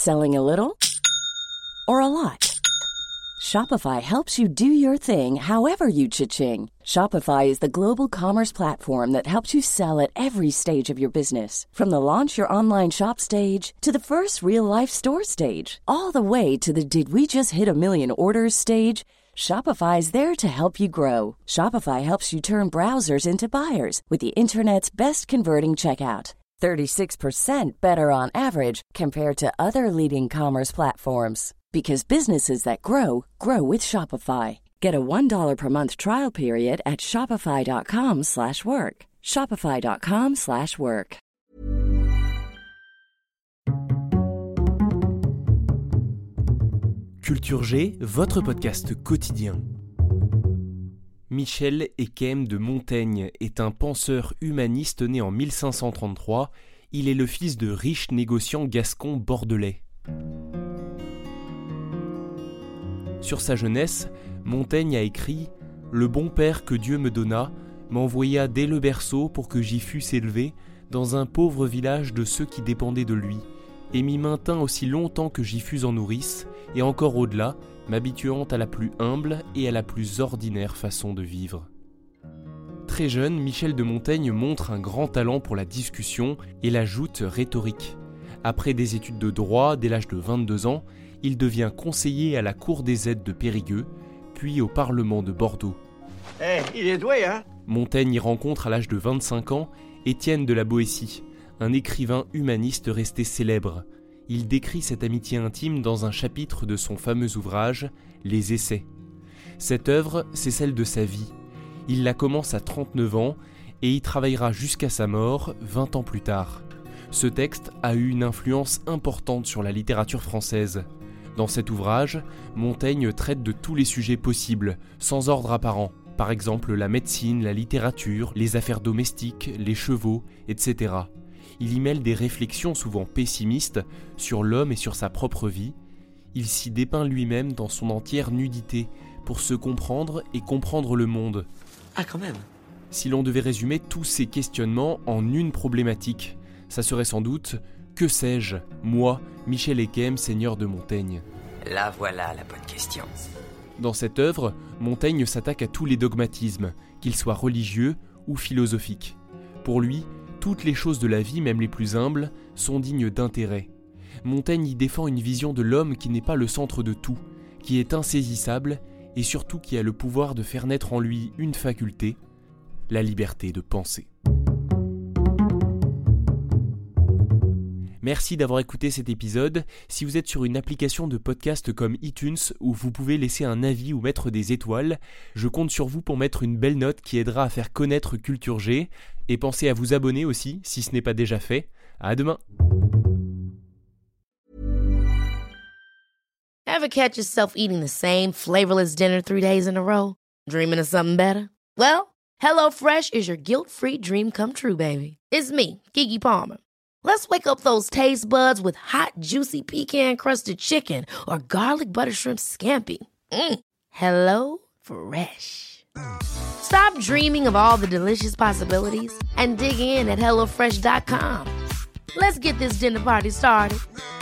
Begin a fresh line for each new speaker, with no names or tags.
Selling a little or a lot? Shopify helps you do your thing however you cha-ching. Shopify is the global commerce platform that helps you sell at every stage of your business. From the launch your online shop stage to the first real-life store stage, all the way to the did we just hit a million orders stage. Shopify is there to help you grow. Shopify helps you turn browsers into buyers with the internet's best converting checkout. 36% better on average compared to other leading commerce platforms. Because businesses that grow, grow with Shopify. Get a $1 per month trial period at shopify.com/work. Shopify.com/work.
Culture G, votre podcast quotidien. Michel Eyquem de Montaigne est un penseur humaniste né en 1533. Il est le fils de riches négociants gascons bordelais. Sur sa jeunesse, Montaigne a écrit « Le bon père que Dieu me donna m'envoya dès le berceau pour que j'y fusse élevé dans un pauvre village de ceux qui dépendaient de lui, et m'y maintint aussi longtemps que j'y fus en nourrice, et encore au-delà, m'habituant à la plus humble et à la plus ordinaire façon de vivre. » Très jeune, Michel de Montaigne montre un grand talent pour la discussion et la joute rhétorique. Après des études de droit dès l'âge de 22 ans, il devient conseiller à la cour des aides de Périgueux, puis au Parlement de Bordeaux.
Il est doué, hein?
Montaigne y rencontre à l'âge de 25 ans Étienne de la Boétie, un écrivain humaniste resté célèbre. Il décrit cette amitié intime dans un chapitre de son fameux ouvrage « Les Essais ». Cette œuvre, c'est celle de sa vie. Il la commence à 39 ans et y travaillera jusqu'à sa mort 20 ans plus tard. Ce texte a eu une influence importante sur la littérature française. Dans cet ouvrage, Montaigne traite de tous les sujets possibles, sans ordre apparent. Par exemple la médecine, la littérature, les affaires domestiques, les chevaux, etc. Il y mêle des réflexions souvent pessimistes sur l'homme et sur sa propre vie. Il s'y dépeint lui-même dans son entière nudité pour se comprendre et comprendre le monde.
Ah, quand même.
Si l'on devait résumer tous ces questionnements en une problématique, ça serait sans doute « Que sais-je, moi, Michel Eyquem, seigneur de Montaigne ?»
Là voilà la bonne question.
Dans cette œuvre, Montaigne s'attaque à tous les dogmatismes, qu'ils soient religieux ou philosophiques. Pour lui, toutes les choses de la vie, même les plus humbles, sont dignes d'intérêt. Montaigne y défend une vision de l'homme qui n'est pas le centre de tout, qui est insaisissable et surtout qui a le pouvoir de faire naître en lui une faculté, la liberté de penser. Merci d'avoir écouté cet épisode. Si vous êtes sur une application de podcast comme iTunes où vous pouvez laisser un avis ou mettre des étoiles, je compte sur vous pour mettre une belle note qui aidera à faire connaître Culture G. Et pensez à vous abonner aussi si ce n'est pas déjà fait. À demain.
Ever catch yourself eating the same flavorless dinner 3 days in a row? Dreaming of something better? Well, HelloFresh is your guilt-free dream come true, baby. It's me, Keke Palmer. Let's wake up those taste buds with hot, juicy pecan-crusted chicken or garlic butter shrimp scampi. Hello Fresh. Stop dreaming of all the delicious possibilities and dig in at HelloFresh.com. Let's get this dinner party started.